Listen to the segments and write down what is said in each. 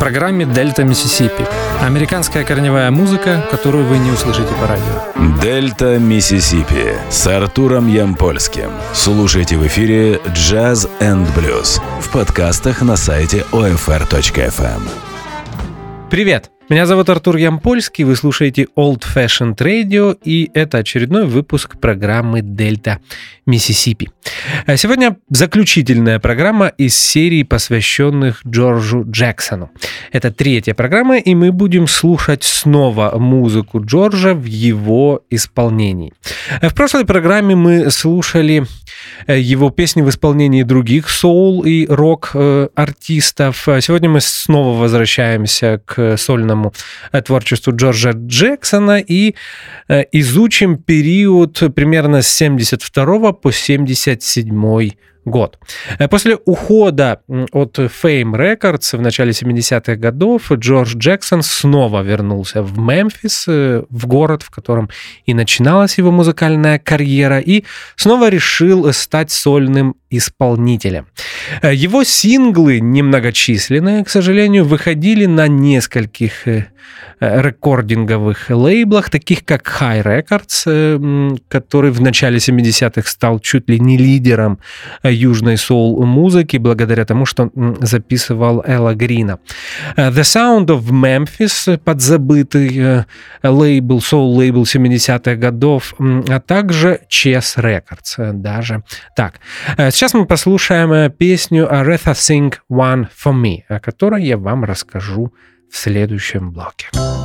программе «Дельта Миссисипи». Американская корневая музыка, которую вы не услышите по радио. «Дельта Миссисипи» с Артуром Ямпольским. Слушайте в эфире «Джаз энд блюз» в подкастах на сайте OFR.FM. Привет! Меня зовут Артур Ямпольский, вы слушаете Old Fashioned Radio, и это очередной выпуск программы «Дельта Миссисипи». Сегодня заключительная программа из серии, посвященных Джорджу Джексону. Это третья программа, и мы будем слушать снова музыку Джорджа в его исполнении. В прошлой программе мы слушали его песни в исполнении других соул и рок-артистов. Сегодня мы снова возвращаемся к сольному творчеству Джорджа Джексона и изучим период примерно с 72 по 77 год. После ухода от Fame Records в начале 70-х годов Джордж Джексон снова вернулся в Мемфис, в город, в котором и начиналась его музыкальная карьера, и снова решил стать сольным исполнителем. Его синглы, немногочисленные, к сожалению, выходили на нескольких рекординговых лейблах, таких как High Records, который в начале 70-х стал чуть ли не лидером южной соул-музыки, благодаря тому, что записывал Элла Грина. The Sound of Memphis, подзабытый лейбл, соул-лейбл 70-х годов, а также Chess Records, даже так. Сейчас мы послушаем песню Aretha Sing One For Me, о которой я вам расскажу в следующем блоке.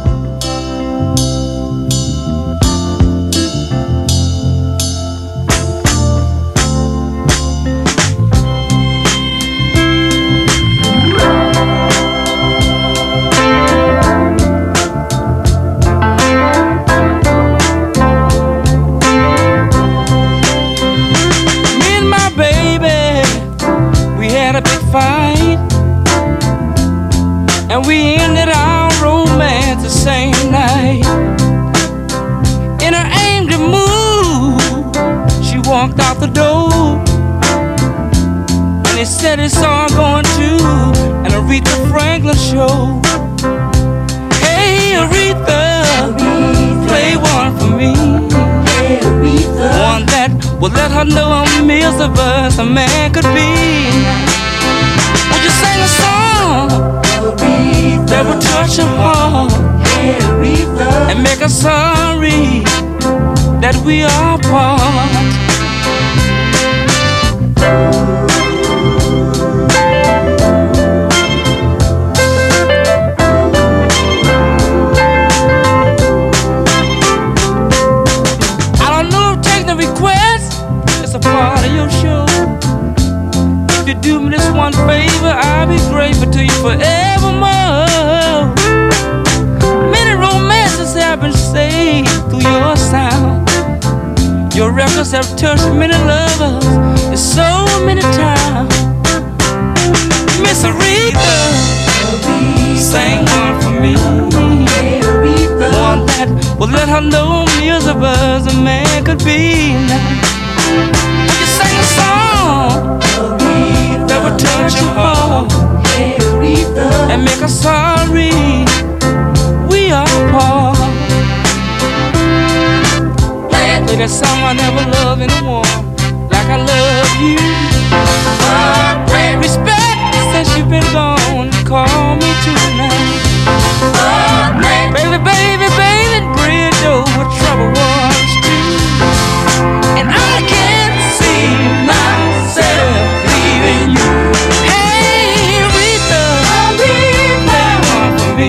And we ended our romance the same night. In her angry mood, she walked out the door, and he said he saw her going to an Aretha Franklin show. Hey Aretha, play one for me. Hey Aretha, one that would let her know how miserable a man could be. Would you sing a song that would touch her heart, and make her sorry that we are apart? I don't know if take the request, it's a part of your show. If you do me this one favor, I'll be grateful to you forevermore. Many romances have been saved through your sound. Your records have touched many lovers in so many times. Miss Aretha, sing one for me. One that will let her know miserable as a man could be. Would you sing a song that would touch your heart and make us sorry we are apart? Play that song I never loved anyone like I love you. Respect since you've been gone, call me tonight. Baby, baby, baby, bridge over trouble waters too. And I can't see myself leaving you. Hey Aretha, play one for me.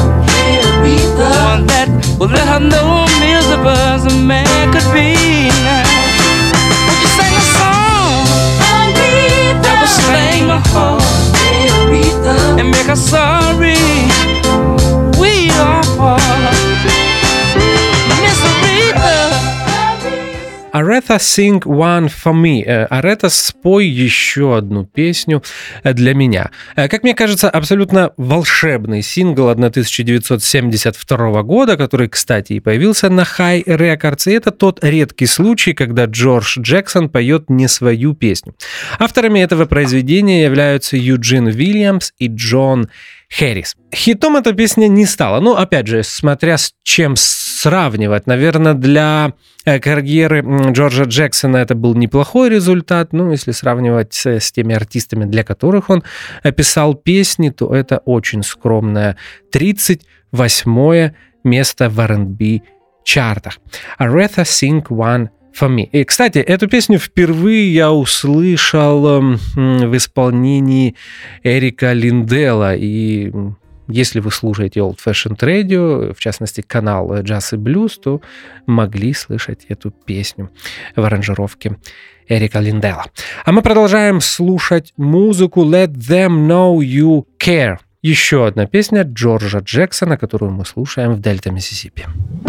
One that will let her know I'm miserable as a man could be now. Would you sing a song that will sting my heart and make her sorry we are apart? Miss Aretha. Aretha Sing One For Me. Aretha, спой еще одну песню для меня. Как мне кажется, абсолютно волшебный сингл 1972 года, который, кстати, и появился на High Records. И это тот редкий случай, когда Джордж Джексон поет не свою песню. Авторами этого произведения являются Юджин Уильямс и Джон Хэрис. Хитом эта песня не стала. Ну, опять же, смотря с чем сравнивать. Наверное, для карьеры Джорджа Джексона это был неплохой результат. Ну, если сравнивать с теми артистами, для которых он писал песни, то это очень скромное 38-е место в R&B чартах. Aretha Sing One For Me. И, кстати, эту песню впервые я услышал в исполнении Эрика Линдела. И если вы слушаете Old Fashioned Radio, в частности, канал Jazz и Blues, то могли слышать эту песню в аранжировке Эрика Линдела. А мы продолжаем слушать музыку Let Them Know You Care. Еще одна песня Джорджа Джексона, которую мы слушаем в Дельта, Миссисипи.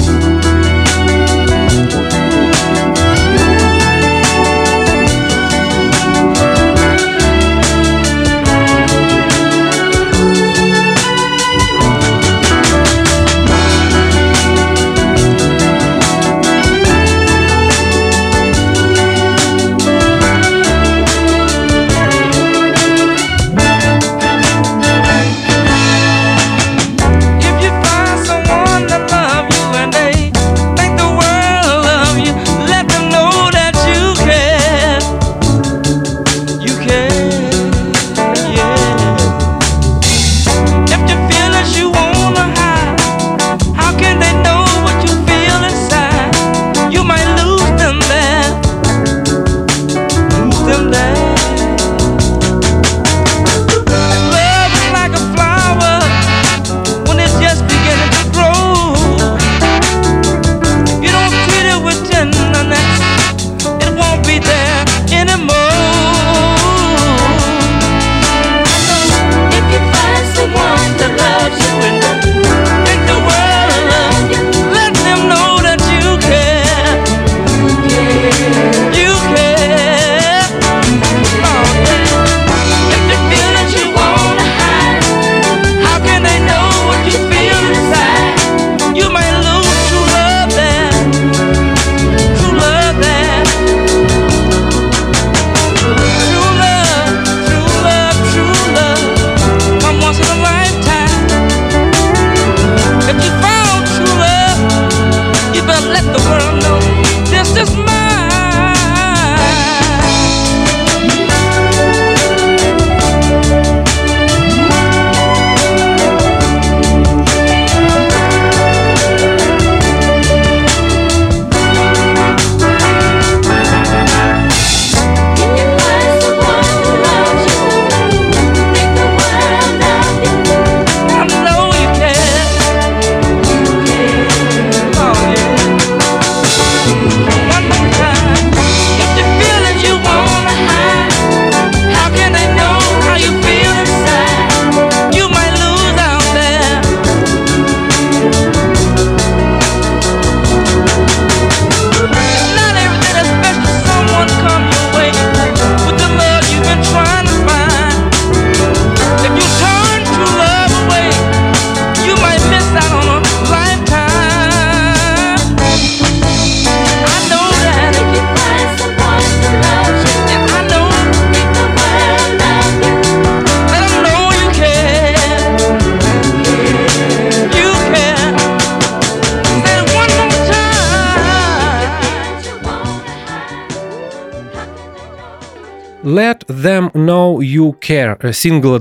Let Them Know You Care, сингл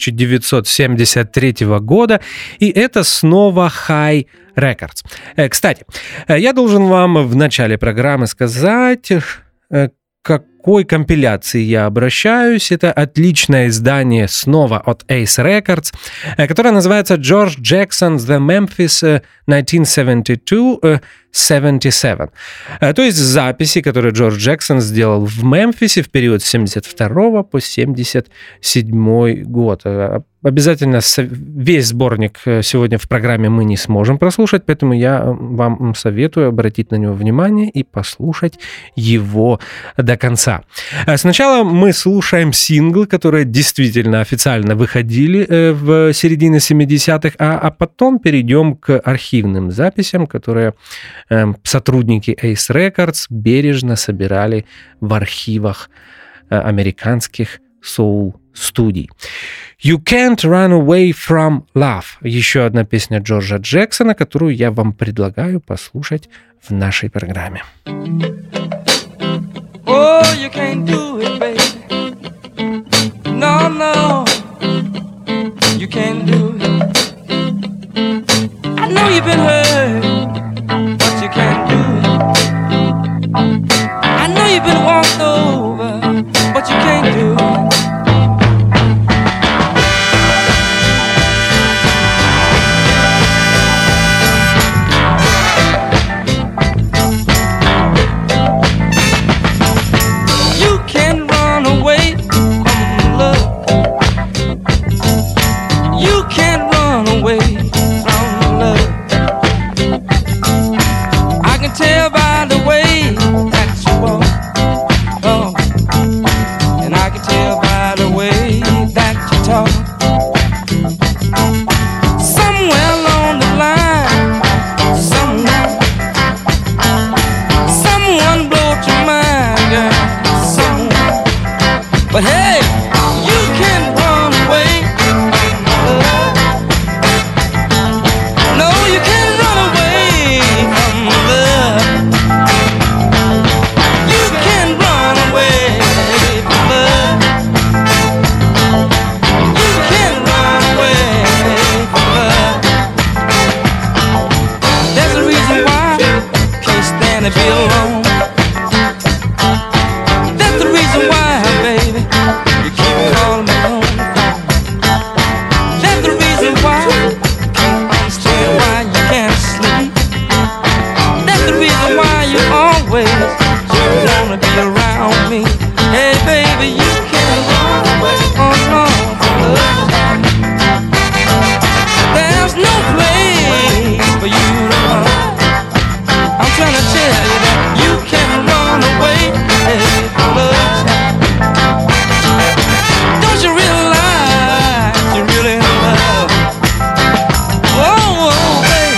1973 года, и это снова High Records. Кстати, я должен вам в начале программы сказать, к какой компиляции я обращаюсь. Это отличное издание снова от Ace Records, которое называется George Jackson's The Memphis 1972-77. То есть записи, которые Джордж Джексон сделал в Мемфисе в период с 72 по 77 год. Обязательно весь сборник сегодня в программе мы не сможем прослушать, поэтому я вам советую обратить на него внимание и послушать его до конца. Сначала мы слушаем синглы, которые действительно официально выходили в середине 70-х, а потом перейдем к архивным записям, которые сотрудники Ace Records бережно собирали в архивах американских студий. You Can't Run Away From Love. Еще одна песня Джорджа Джексона, которую я вам предлагаю послушать в нашей программе. Oh, you can't do it, baby. No, no, you can't do it. I know you've been hurt, but you can't do it. I know you've been walked over, but you can't do it. But hey, you can run away from love. No, you can't run away from love. You can run away from love. You can run away from love. There's a reason why I can't stand to be alone. That's the reason why, baby, you keep calling me on the phone. That's the reason why I can't understand why you can't sleep. That's the reason why you always wanna be around me. Hey, baby, you can't run away from love. There's no place for you to run. I'm trying to tell you that you can't run away from love. Don't you realize you're really in love? Oh, baby.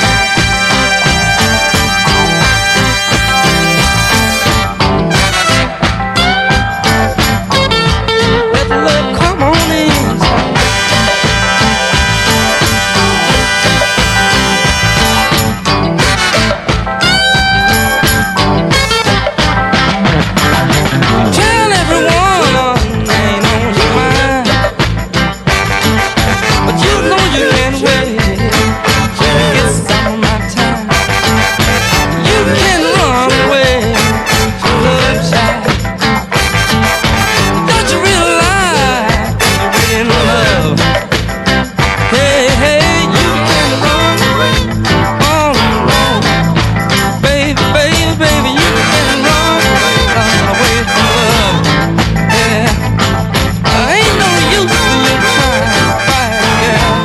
Let the love come on inside. Tell everyone ain't on your mind, but you know you can't wait till you get some of my time. You can run away to love child. Don't you realize you're in love? Hey, hey, you can run away all alone. Baby, baby, baby, you can run away from love. Yeah, ain't no use in you trying to fight, girl.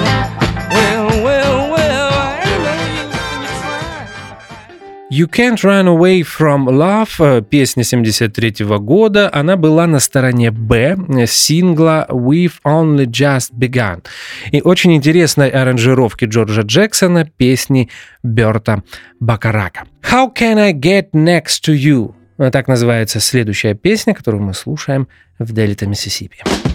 Well, ain't no use in you trying. You Can't Run Away From Love, песня 73 года, она была на стороне Б сингла We've Only Just Begun и очень интересной аранжировки Джорджа Джексона песни Берта Бакарака. How Can I Get Next to You? Так называется следующая песня, которую мы слушаем в Дельта Миссисипи.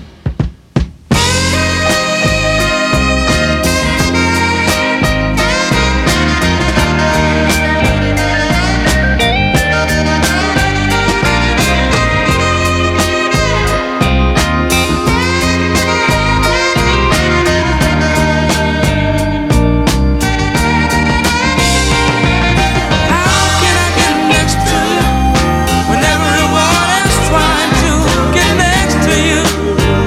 How can I get next to you when everyone is trying to get next to you?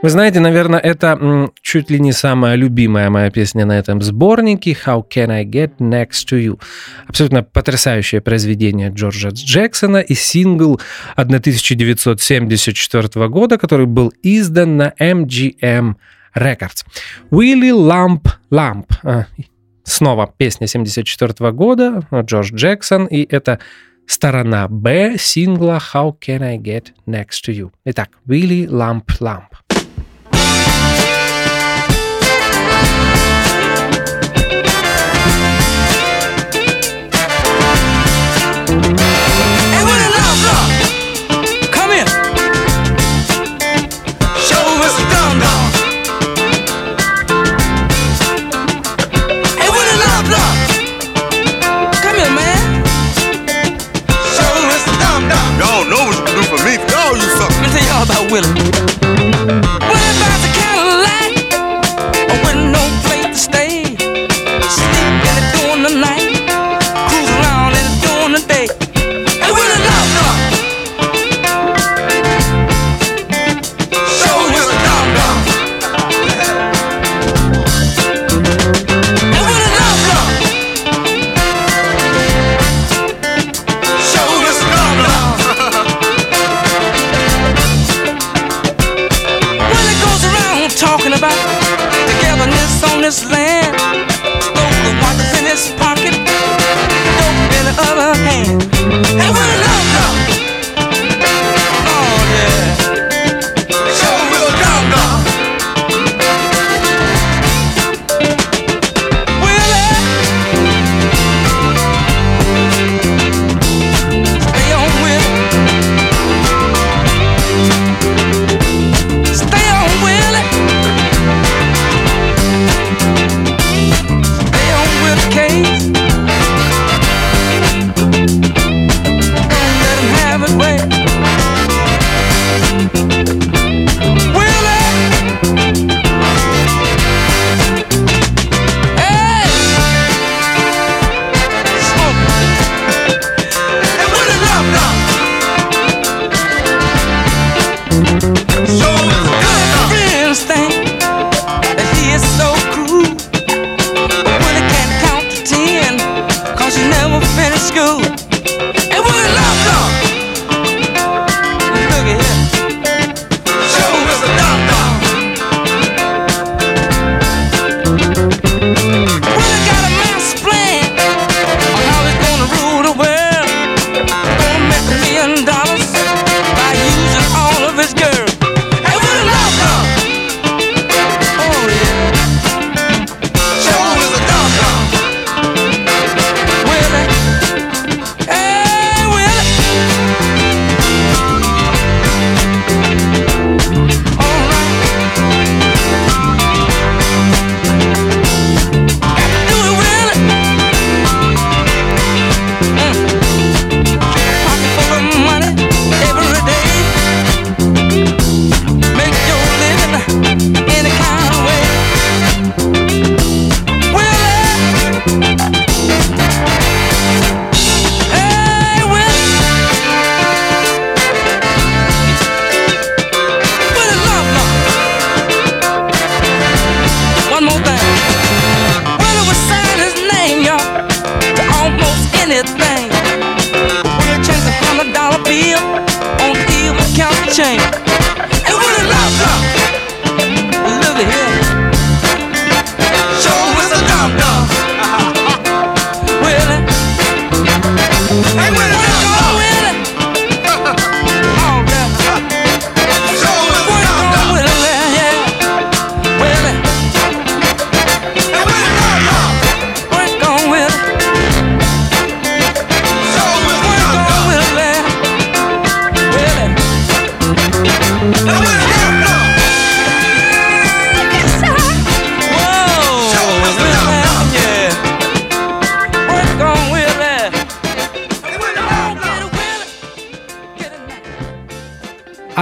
Вы знаете, наверное, это чуть ли не самая любимая моя песня на этом сборнике «How Can I Get Next to You». Абсолютно потрясающее произведение Джорджа Джексона и сингл 1974 года, который был издан на MGM Records. «Willie Lump Lump». Снова песня 1974 года, Джордж Джексон, и это сторона Б сингла «How Can I Get Next to You». Итак, «Willie Lump Lump». About Willie. Willie buys a Cadillac with no place to stay. Sleep in it during the night, cruise around in it during the day. Hey, Willie, love. Show Willie love. Hey, Willie, love. Show Willie love. Talking about togetherness on this land. Stole the waters in his pocket, dope in the other hand. Hey, Willie love. Oh yeah. Show Willie love. Willie, stay on Willie. Stay on Willie.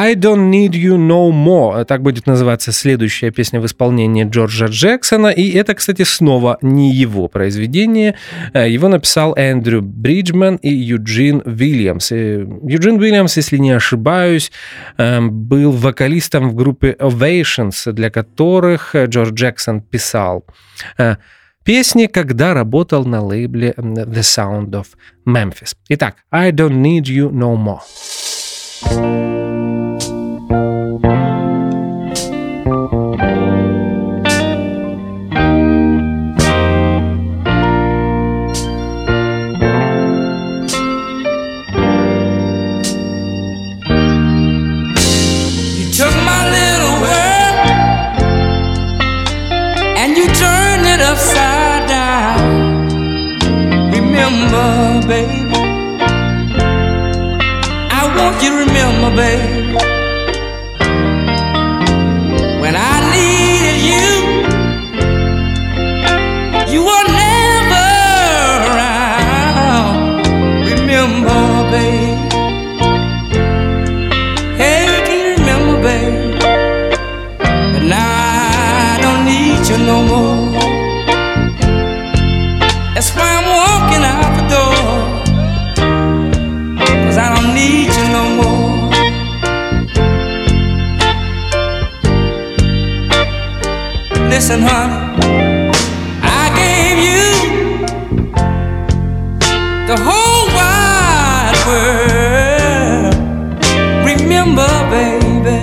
I Don't Need You No More. Так будет называться следующая песня в исполнении Джорджа Джексона. И это, кстати, снова не его произведение. Его написал Эндрю Бриджман и Юджин Уильямс. Юджин Уильямс, если не ошибаюсь, был вокалистом в группе Ovations, для которых Джордж Джексон писал песни, когда работал на лейбле The Sound of Memphis. Итак, I Don't Need You No More. Remember, baby, I want you to remember, baby, when I needed you, you were never around. Remember, baby, hey, can you remember, baby, but now I don't need you no more. That's why I'm walking out the door, 'cause I don't need you no more. Listen, honey, I gave you the whole wide world. Remember, baby,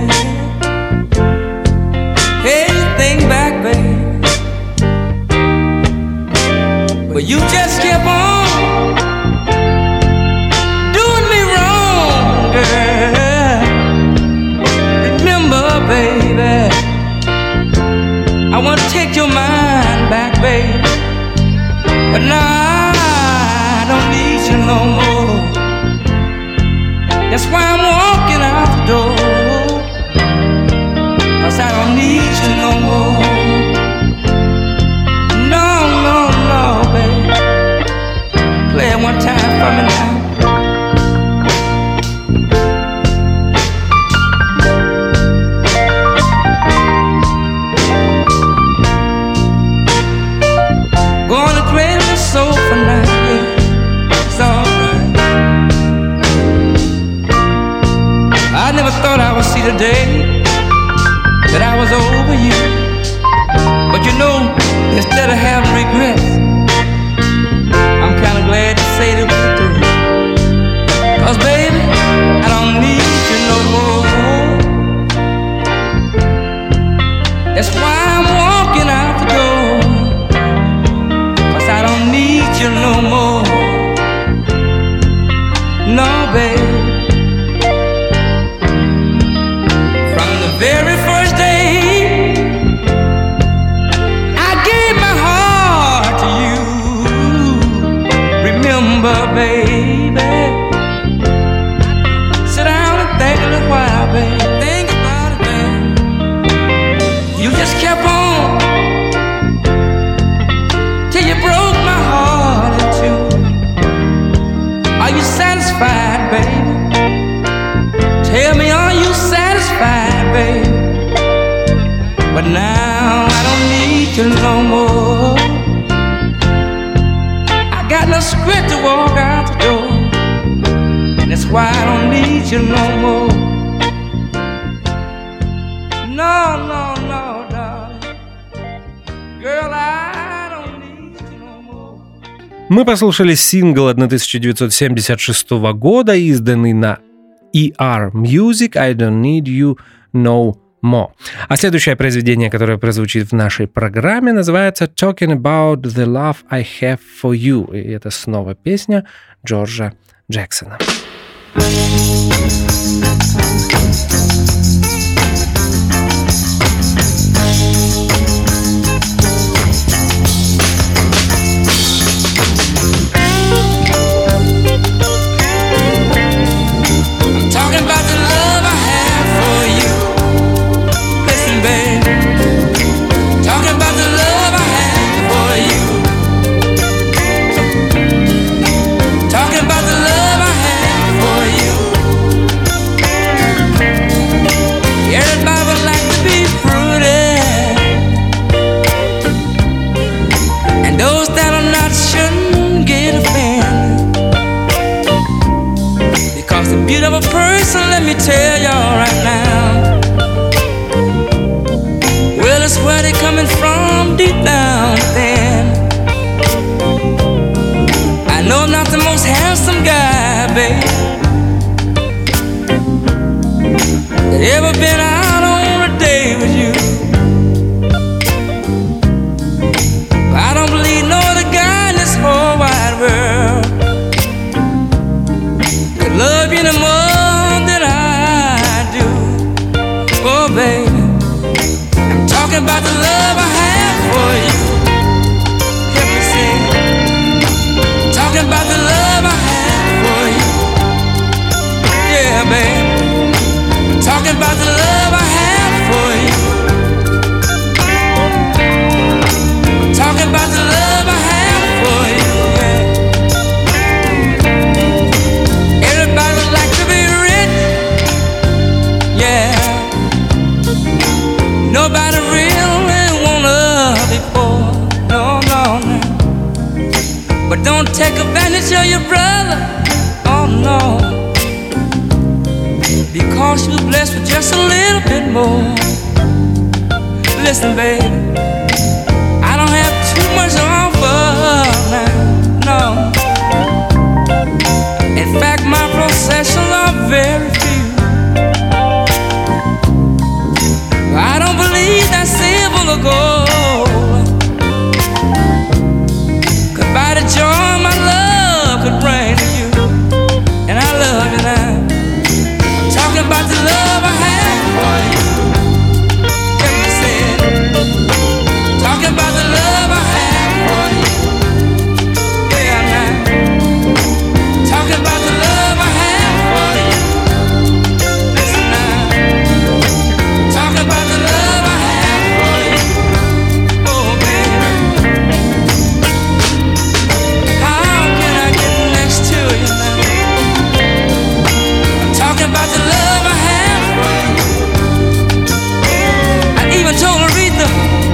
hey, think back, baby, but you just kept on doing me wrong, girl. Remember, baby, I want to take your mind back, baby, but now I don't need you no more. That's why I'm walking out the door, 'cause I don't need you no more. Play it one time for me now. Gonna trade my soul for now, yeah, it's alright. I never thought I would see the day that I was over you, but you know, instead of having regrets, I'm kinda glad to say that we're through. 'Cause baby, I don't need you no more. That's why I'm walking out the door, 'cause I don't need you no more. No, baby. From the very first day I gave my heart to you. Remember, baby, sit down and think a little while, baby. Think about it, baby. You just kept on till you broke my heart in two. Are you satisfied, baby? Tell me, are you satisfied, baby? But now I don't need you no more. Got no script to walk out the door, and that's why I don't need you no more. No, no, no, darling. Girl, I don't need you no more. Мы послушали сингл 1976 года, изданный на ER Music, I Don't Need You No More. А следующее произведение, которое прозвучит в нашей программе, называется Talking About the Love I Have For You. И это снова песня Джорджа Джексона. of a person, let me tell y'all right now. Well, it's where they coming from deep down within. I know I'm not the most handsome guy, babe, that ever been out on a day with you. I don't believe no other guy in this whole wide world could love you no more than I do. Oh, baby, I'm talking about the love I have for you. Help me sing. I'm talking about the love I have for you. Yeah, baby, I'm talking about the love I have for you. Talking about the love I have for you, yeah. Everybody would like to be rich, yeah. Nobody really wanna be poor, no, no, no. But don't take advantage of your brother, oh no, because you're blessed with just a little bit more. Listen, baby, I don't have too much to offer now, no. In fact, my possessions are very few. I don't believe that silver or gold could buy the joy my love could bring to you. And I love you now. I'm talking about the love I have for you. Talking about the love I have for you. Yeah, now. Talking about the love I have for you. Listen now. Talking about the love I have for you. Oh, baby. How can I get next to you now? I'm talking about the love I have for you. I even told Aretha,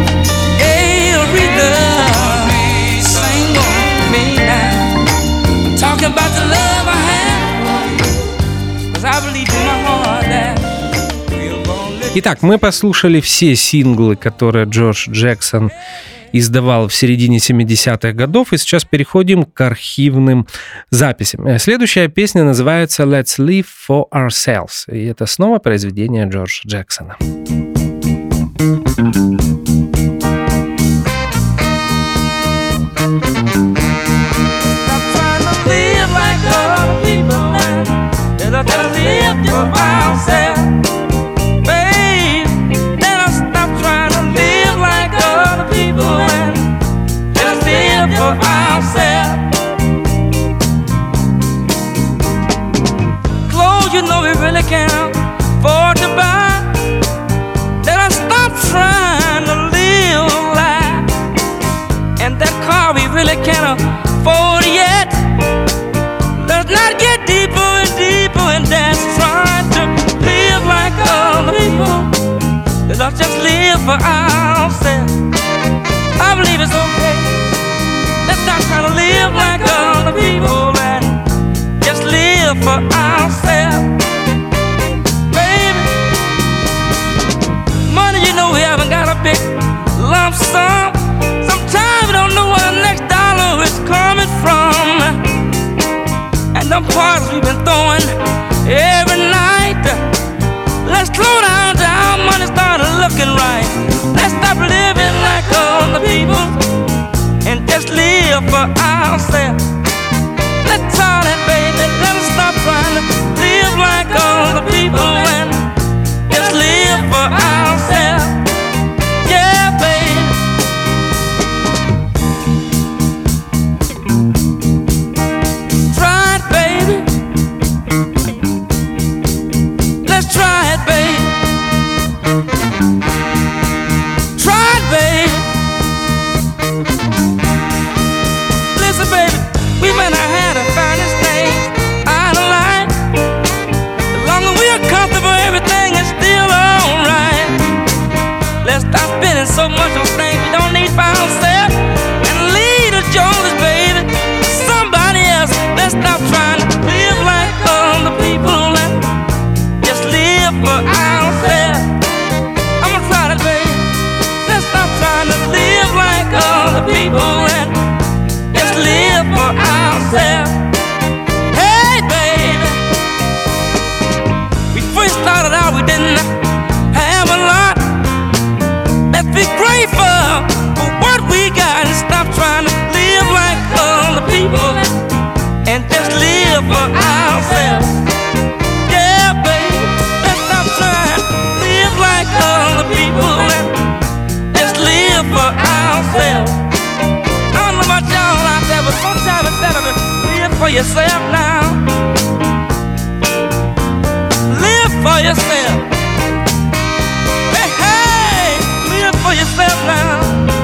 about the love I have, 'cause I believe in my heart that we're gonna live. Итак, мы послушали все синглы, которые Джордж Джексон издавал в середине 70-х годов, и сейчас переходим к архивным записям. Следующая песня называется «Let's Live for Ourselves», и это снова произведение Джорджа Джексона. Gotta live for ourselves, babe. Let us stop trying to live like other people and let us live for ourselves. Clothes you know we really can't afford to buy. Let us stop trying to live life. And that car we really can't afford yet. Let's not get deeper and deeper and that's trying to live like other people. Let's just live for ourselves. I believe it's okay. Let's not try to live like other people and just live for ourselves. Baby, money, you know we haven't got a big lump sum. Sometimes we don't know where the next dollar is coming from. And the parties we've been throwing every night. Let's slow down till our money started looking right. Let's stop living like other people and just live for ourselves. Let's all that, baby. Let us stop trying to live like other people and just live for ourselves. Yeah, baby. yourself. I don't know about y'all out there, but sometimes it's better to live for yourself now. Live for yourself. Hey, hey, live for yourself now.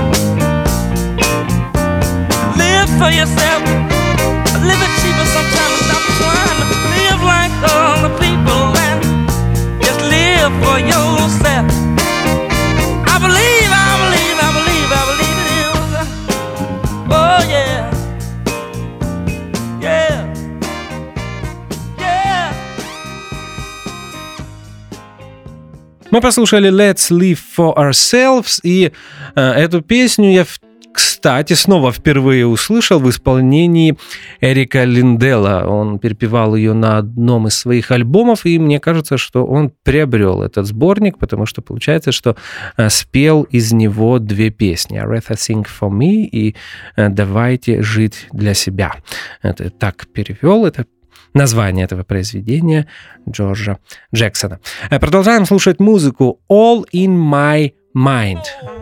Live for yourself. Live it cheaper sometimes. Stop trying to live like other people and just live for yourself. I believe it is. Oh yeah. Yeah. Yeah. Мы послушали Let's Live for Ourselves, и эту песню я, кстати, снова впервые услышал в исполнении Эрика Линдела. Он перепевал ее на одном из своих альбомов, и мне кажется, что он приобрел этот сборник, потому что получается, что спел из него две песни: «Aretha Sing for Me» и «Давайте жить для себя». Это так перевел, это название этого произведения Джорджа Джексона. Продолжаем слушать музыку «All in My Mind».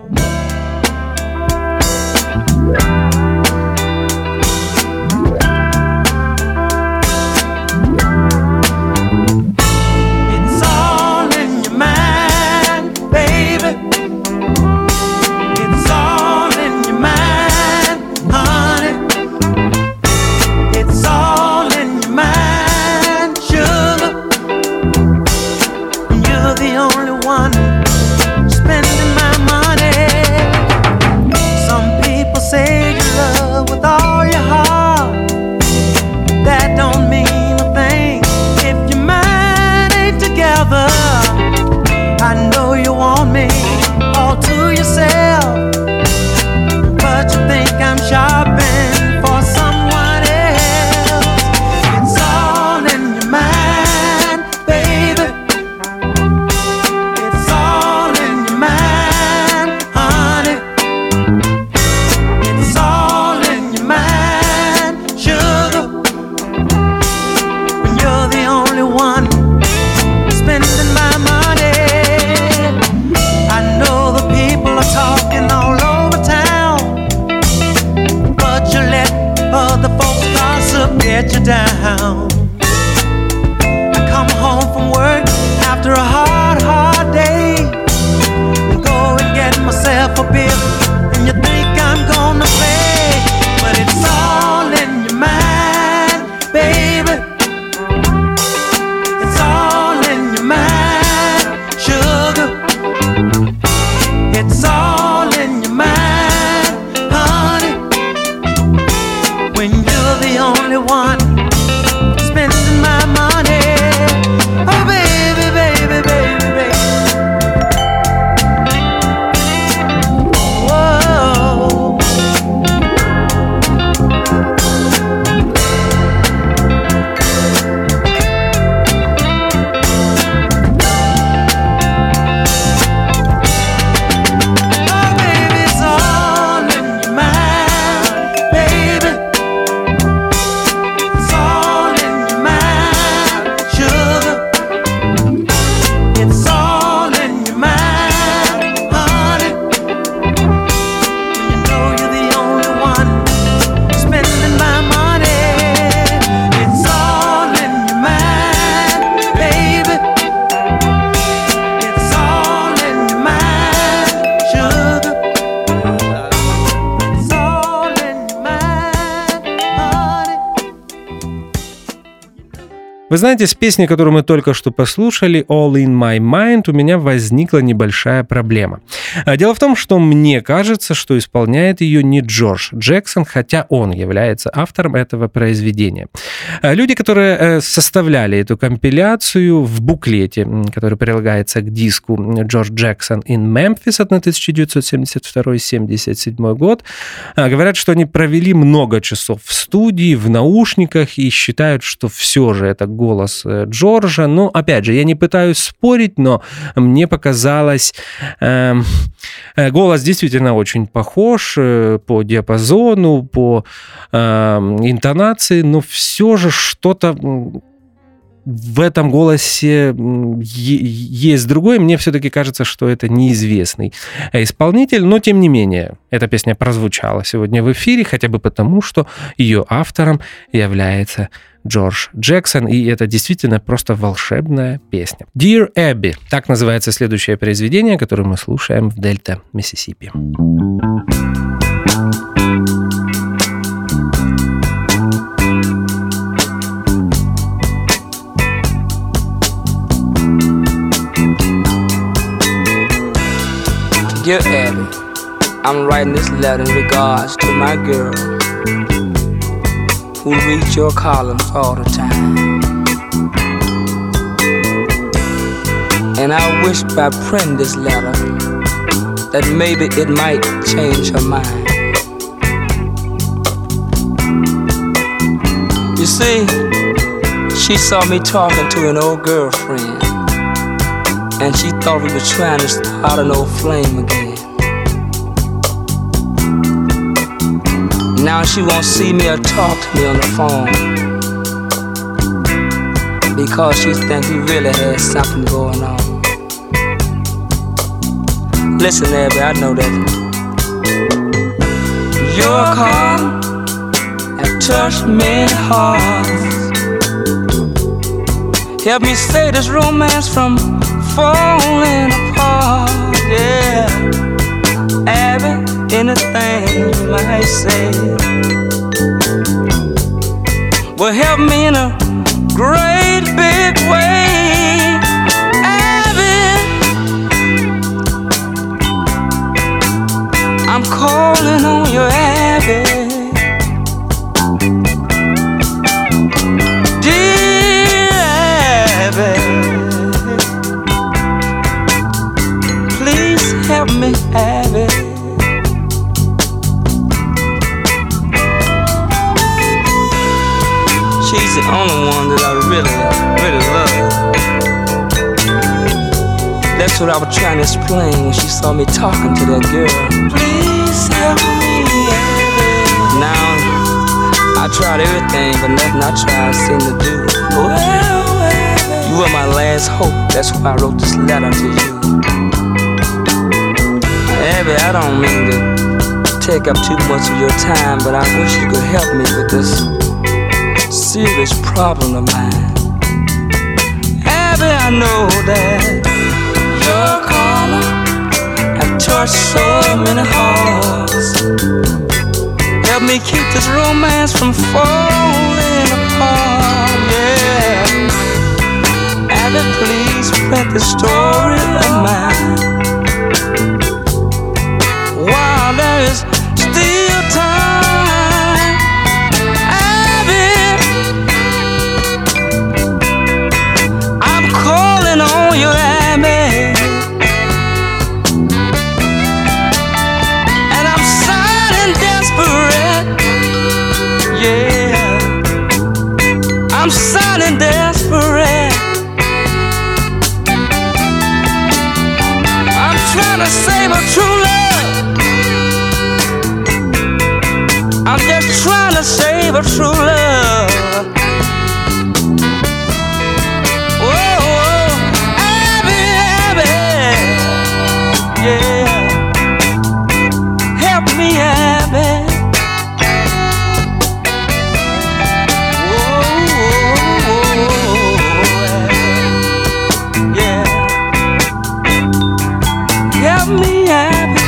Вы знаете, с песней, которую мы только что послушали, «All in My Mind», у меня возникла небольшая проблема. Дело в том, что мне кажется, что исполняет ее не Джордж Джексон, хотя он является автором этого произведения. Люди, которые составляли эту компиляцию в буклете, который прилагается к диску «Джордж Джексон in Memphis» от 1972-1977 год, говорят, что они провели много часов в студии, в наушниках и считают, что все же это голос Джорджа. Ну, опять же, я не пытаюсь спорить, но мне показалось, голос действительно очень похож по диапазону, по интонации, но все же что-то в этом голосе есть другой. Мне все-таки кажется, что это неизвестный исполнитель, но тем не менее, эта песня прозвучала сегодня в эфире, хотя бы потому, что ее автором является Джордж Джексон, и это действительно просто волшебная песня. Dear Abby, так называется следующее произведение, которое мы слушаем в Дельта, Миссисипи. Dear Abby, I'm writing this letter in regards to my girl who reads your columns all the time. And I wish by printing this letter that maybe it might change her mind. You see, she saw me talking to an old girlfriend, and she thought we were trying to start an old flame again. Now she won't see me or talk to me on the phone because she thinks we really had something going on. Listen, Abby, I know that your call have touched many hearts. Help me save this romance from falling apart, yeah. Abby, anything you might say will help me in a great big way. Abby, I'm calling on you, Abby. Dear Abby, help me, Abby. She's the only one that I really love. That's what I was trying to explain when she saw me talking to that girl. Please help me, Abby. Now, I tried everything, but nothing I tried seemed to do. Well, Abby, you were my last hope. That's why I wrote this letter to you. Abby, I don't mean to take up too much of your time, but I wish you could help me with this serious problem of mine. Abby, I know that your caller have touched so many hearts. Help me keep this romance from falling apart, yeah. Abby, please print the story of mine while there is still time. Abby, I'm calling on you, Abby, and I'm sounding desperate, yeah, I'm sounding desperate. I'm trying to save a true love. I'm just trying to save a true love. Whoa, whoa, Abby, Abby, yeah. Help me, Abby. Whoa, whoa, whoa, yeah. Help me, Abby.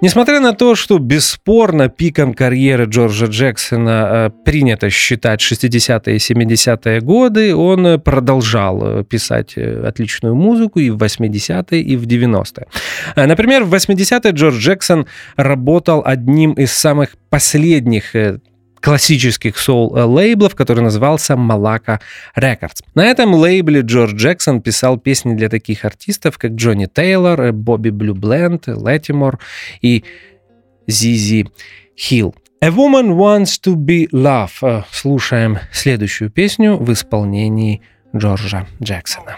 Несмотря на то, что бесспорно пиком карьеры Джорджа Джексона принято считать 60-е и 70-е годы, он продолжал писать отличную музыку и в 80-е, и в 90-е. Например, в 80-е Джордж Джексон работал одним из самых последних классических соул-лейблов, который назывался Malaca Records. На этом лейбле Джордж Джексон писал песни для таких артистов, как Джонни Тейлор, Бобби Блю Бленд, Леттимор и Зизи Хилл. A Woman Wants to Be Loved. Слушаем следующую песню в исполнении Джорджа Джексона.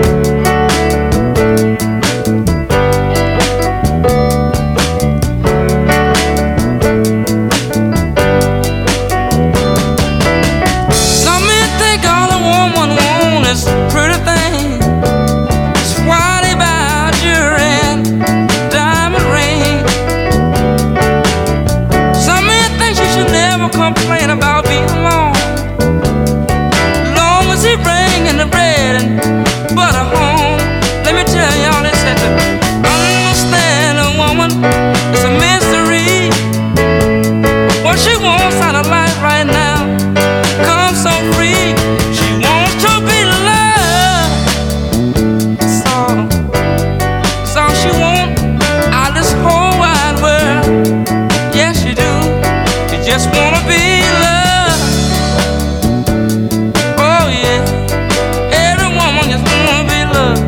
Complain about being alone, long as he bringing the bread and butter home. Let me tell y'all, they said to understand a woman is a mystery. What she wants out of life right now comes so free. She wants to be loved. That's all she wants out of this whole wide world. Yes, you do. You just wanna be loved. Oh yeah, every woman just wanna be loved.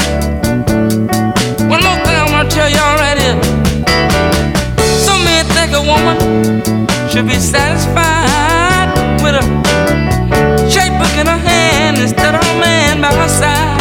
One more thing I'm gonna tell y'all right here. Some men think a woman should be satisfied with a checkbook in her hand instead of a man by her side.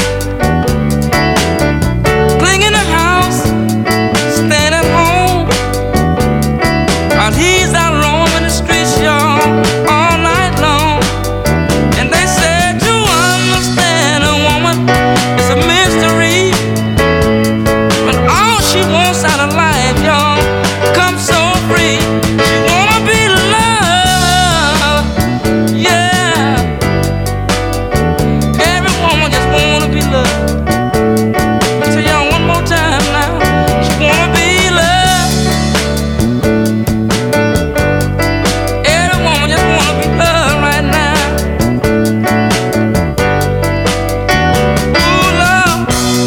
Cleaning the house, staying at home, while he's out roaming the streets, y'all, all night long. And they said to understand a woman is a mystery, but all she wants out of life, y'all, comes so free. She wanna be loved, yeah. Every woman just wanna be loved. I tell y'all one more time now, she wanna be loved. Every woman just wanna be loved right now. Ooh, love.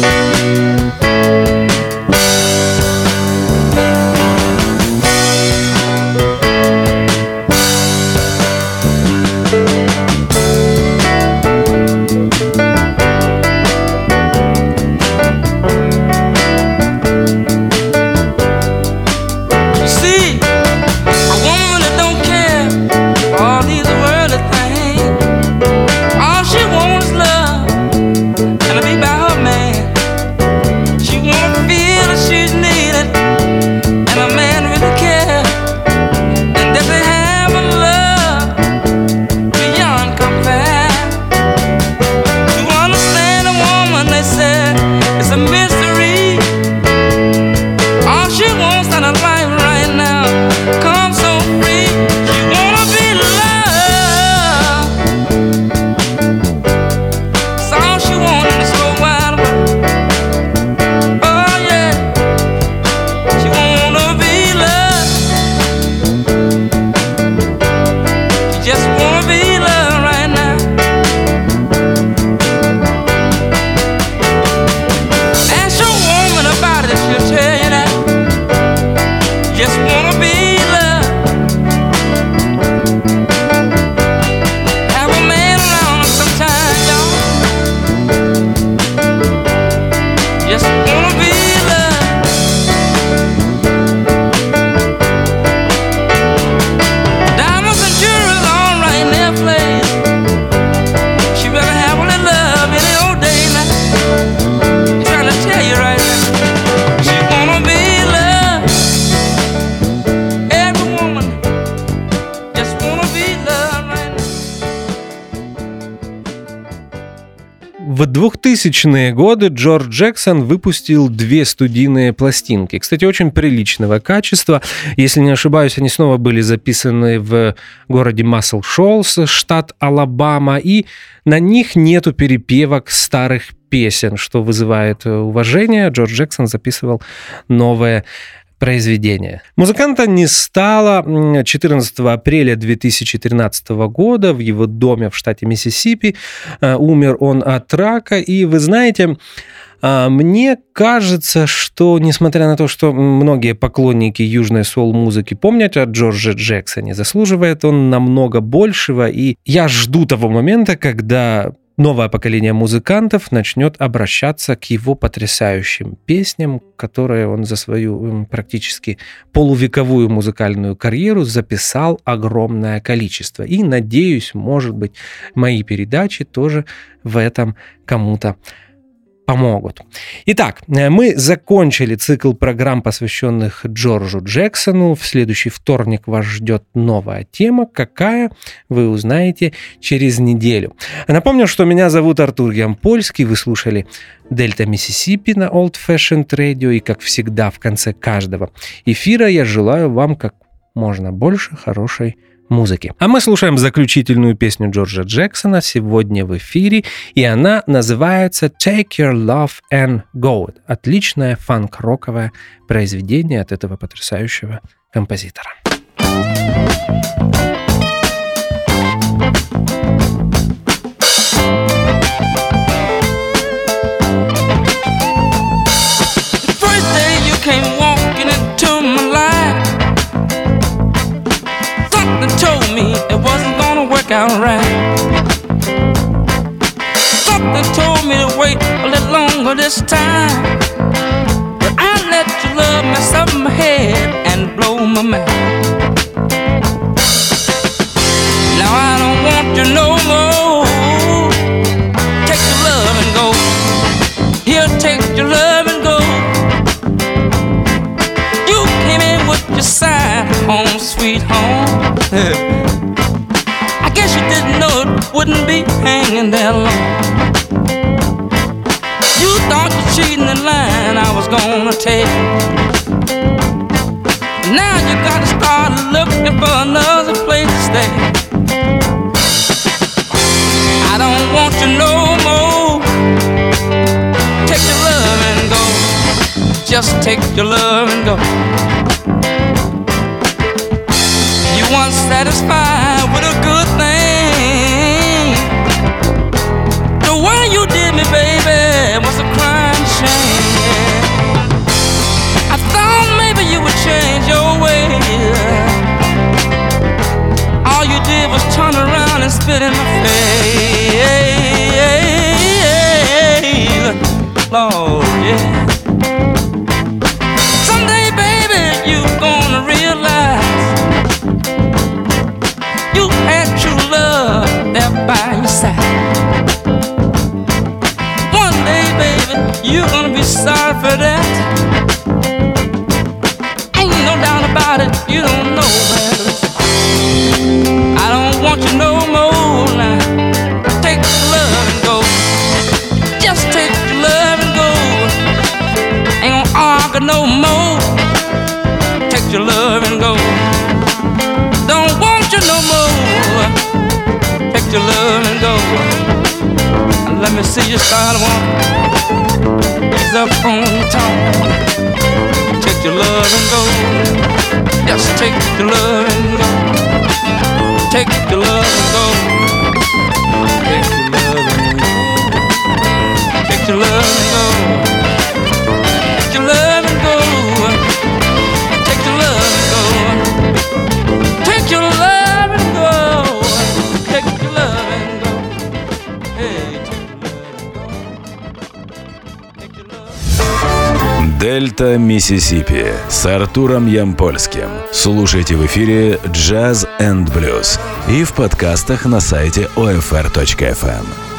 You see, a woman that don't care for all these worldly things, all she wants is love and to be by her man. She wanna feel that she's needed and a man really cares, and that they have a love beyond compare. To understand a woman, they said, it's a mystery. All she wants out of life right now comes so free. She wanna be loved. That's all she wants in this whole wide world. Oh yeah, she wanna be loved. She just wanna be loved right now. Ask your woman about it, she'll tell you that. Just wanna be loved. Have a man around her sometime, y'all. Just wanna be loved. Diamonds and jewelry all right in their place. She better have a little love any old day now. I'm trying to tell you right now. She wanna be loved. Every woman just wanna be loved right now. В 2000-е годы Джордж Джексон выпустил 2 студийные пластинки. Кстати, очень приличного качества. Если не ошибаюсь, они снова были записаны в городе Масл Шолс, штат Алабама, и на них нету перепевок старых песен, что вызывает уважение. Джордж Джексон записывал новые произведения. Музыканта не стало 14 апреля 2013 года в его доме в штате Миссисипи. Умер он от рака. И вы знаете, мне кажется, что, несмотря на то, что многие поклонники южной соул-музыки помнят о Джордже Джексоне, заслуживает он намного большего. И я жду того момента, когда новое поколение музыкантов начнет обращаться к его потрясающим песням, которые он за свою практически полувековую музыкальную карьеру записал огромное количество. И, надеюсь, может быть, мои передачи тоже в этом кому-то помогут. Итак, мы закончили цикл программ, посвященных Джорджу Джексону. В следующий вторник вас ждет новая тема. Какая, вы узнаете через неделю. Напомню, что меня зовут Артур Ямпольский. Вы слушали Дельта Миссисипи на Old Fashioned Radio. И, как всегда, в конце каждого эфира я желаю вам как можно больше хорошей музыки. А мы слушаем заключительную песню Джорджа Джексона сегодня в эфире, и она называется «Take Your Love and Go». Отличное фанк-роковое произведение от этого потрясающего композитора. Out right. Something told me to wait a little longer this time, but I let your love mess up my head and blow my mind. Now I don't want you no more. Take your love and go. Here, take your love and go. You came in with your sign, home sweet home. Guess you didn't know it wouldn't be hanging there long. You thought you cheating in line I was gonna take. Now you gotta start looking for another place to stay. I don't want you no more. Take your love and go. Just take your love and go. You weren't satisfied with a good thing. The way you did me, baby, was a crying shame. I thought maybe you would change your ways. All you did was turn around and spit in my face. Lord, yeah. Someday, baby, you gonna realize you had true love there by your side. One day, baby, you're gonna be sorry for that. Ain't no doubt about it, you don't know better. I don't want you no more now. Take your love and go. Just take your love and go. Ain't gonna argue no more. Take your love and go. Don't want you no more. Take your love and go. Let me see you start walking. Ease up on top. Take your love and go. Just take your love and go. Take your love and go. Take your love and go. Take your love and go. Take your love and go. Take your love and go. Take your love and go. Take your love and go. Hey, take your love and go. Дельта Миссисипи с Артуром Ямпольским. Слушайте в эфире Jazz and Blues и в подкастах на сайте OFR.FM.